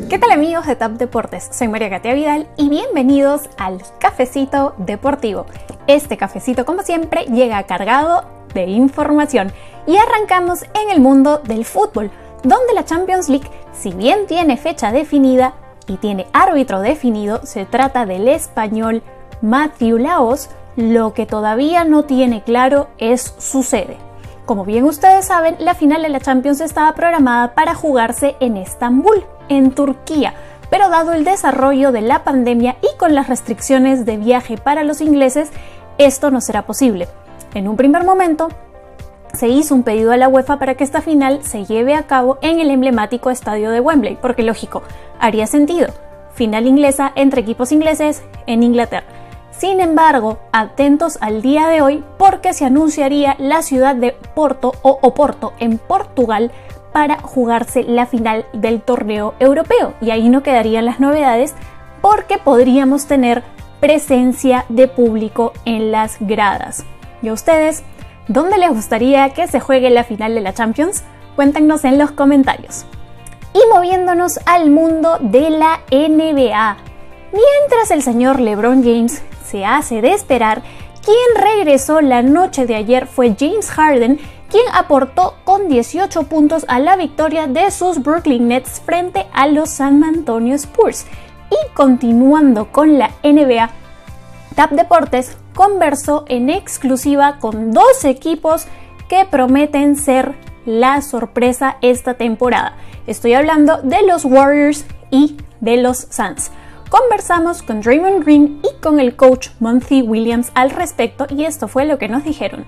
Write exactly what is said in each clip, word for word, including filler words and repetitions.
¿Qué tal amigos de Tap Deportes? Soy María Katia Vidal y bienvenidos al Cafecito Deportivo. Este cafecito, como siempre, llega cargado de información y arrancamos en el mundo del fútbol, donde la Champions League, si bien tiene fecha definida y tiene árbitro definido, se trata del español Matthew Lahoz. Lo que todavía no tiene claro es su sede. Como bien ustedes saben, la final de la Champions estaba programada para jugarse en Estambul, en Turquía, pero dado el desarrollo de la pandemia y con las restricciones de viaje para los ingleses, esto no será posible. En un primer momento, se hizo un pedido a la UEFA para que esta final se lleve a cabo en el emblemático estadio de Wembley, porque lógico, haría sentido, final inglesa entre equipos ingleses en Inglaterra. Sin embargo, atentos al día de hoy porque se anunciaría la ciudad de Porto o Oporto en Portugal para jugarse la final del torneo europeo, y ahí no quedarían las novedades porque podríamos tener presencia de público en las gradas. ¿Y a ustedes, dónde les gustaría que se juegue la final de la Champions? Cuéntenos en los comentarios. Y moviéndonos al mundo de la N B A, mientras el señor LeBron James se hace de esperar, quien regresó la noche de ayer fue James Harden, quien aportó con dieciocho puntos a la victoria de sus Brooklyn Nets frente a los San Antonio Spurs. Y continuando con la N B A, Tap Deportes conversó en exclusiva con dos equipos que prometen ser la sorpresa esta temporada. Estoy hablando de los Warriors y de los Suns. Conversamos con Draymond Green y con el coach Monty Williams al respecto y esto fue lo que nos dijeron.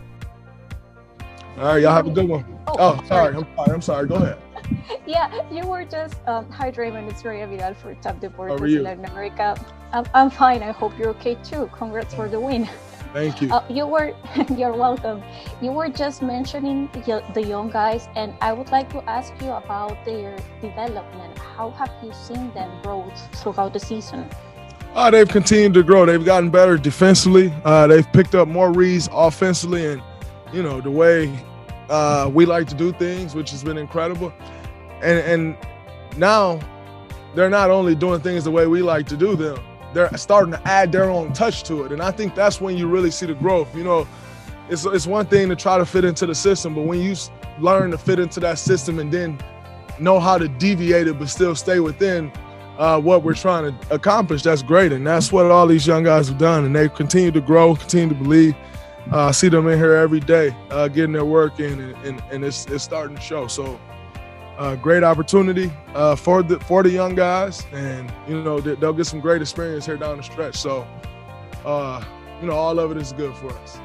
All right, y'all have a good one. Oh, sorry, I'm sorry, I'm sorry. Go ahead. Yeah, you were just, um, hi Draymond, it's Maria Vidal for Tap Deportes in Latin America. I'm, I'm fine, I hope you're okay too. Congrats for the win. Thank you. Uh, you were, you're welcome. You were just mentioning the young guys, and I would like to ask you about their development. How have you seen them grow throughout the season? Uh, they've continued to grow. They've gotten better defensively. Uh, they've picked up more reads offensively, and you know the way uh, we like to do things, which has been incredible. And and now they're not only doing things the way we like to do them, they're starting to add their own touch to it. And I think that's when you really see the growth. You know, it's, it's one thing to try to fit into the system, but when you learn to fit into that system and then know how to deviate it but still stay within uh, what we're trying to accomplish, that's great. And that's what all these young guys have done. And they continue to grow, continue to believe. Uh, I see them in here every day uh, getting their work in, and, and, and it's, it's starting to show. So uh, great opportunity uh, for the for the young guys, and you know they, they'll get some great experience here down the stretch. So uh, you know all of it is good for us.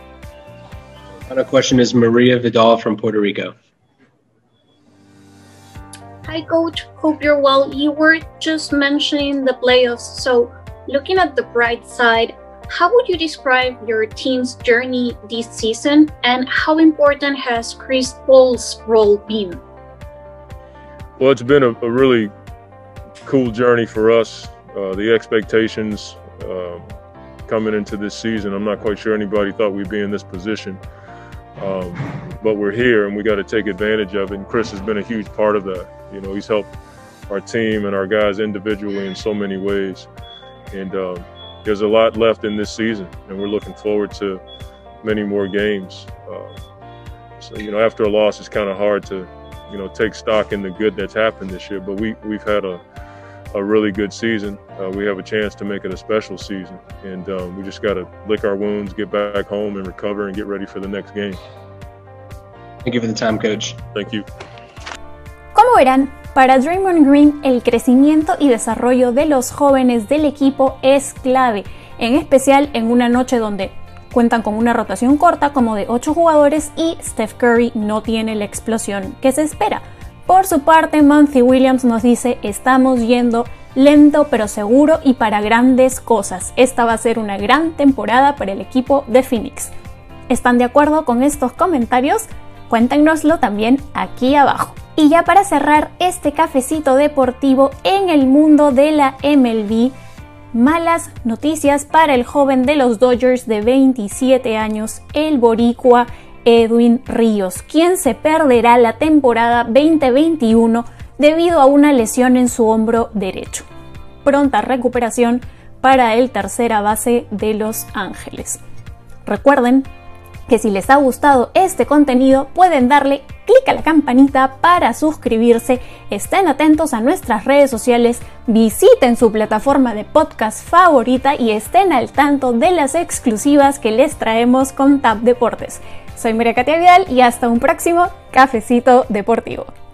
Another question is Maria Vidal from Puerto Rico. Hi coach, hope you're well. You were just mentioning the playoffs, so looking at the bright side, how would you describe your team's journey this season, and how important has Chris Paul's role been? Well, it's been a, a really cool journey for us. Uh, the expectations uh, coming into this season, I'm not quite sure anybody thought we'd be in this position. Um, but we're here and we got to take advantage of it. And Chris has been a huge part of that. You know, he's helped our team and our guys individually in so many ways. And um, there's a lot left in this season, and we're looking forward to many more games. Uh, so, you know, after a loss, it's kind of hard to, you know, take stock in the good that's happened this year, but we, we've had a, a really good season. Uh, we have a chance to make it a special season, and um, we just got to lick our wounds, get back home and recover and get ready for the next game. Thank you for the time, Coach. Thank you. Como verán, para Draymond Green el crecimiento y desarrollo de los jóvenes del equipo es clave, en especial en una noche donde cuentan con una rotación corta como de ocho jugadores y Steph Curry no tiene la explosión que se espera. Por su parte, Monty Williams nos dice: estamos yendo lento pero seguro y para grandes cosas. Esta va a ser una gran temporada para el equipo de Phoenix. ¿Están de acuerdo con estos comentarios? Cuéntenoslo también aquí abajo. Y ya para cerrar este cafecito deportivo en el mundo de la M L B, malas noticias para el joven de los Dodgers de veintisiete años, el boricua Edwin Ríos, quien se perderá la temporada veinte veintiuno debido a una lesión en su hombro derecho. Pronta recuperación para el tercera base de Los Ángeles. Recuerden que si les ha gustado este contenido pueden darle clic a la campanita para suscribirse, estén atentos a nuestras redes sociales, visiten su plataforma de podcast favorita y estén al tanto de las exclusivas que les traemos con T A P Deportes. Soy María Katia Vidal y hasta un próximo Cafecito Deportivo.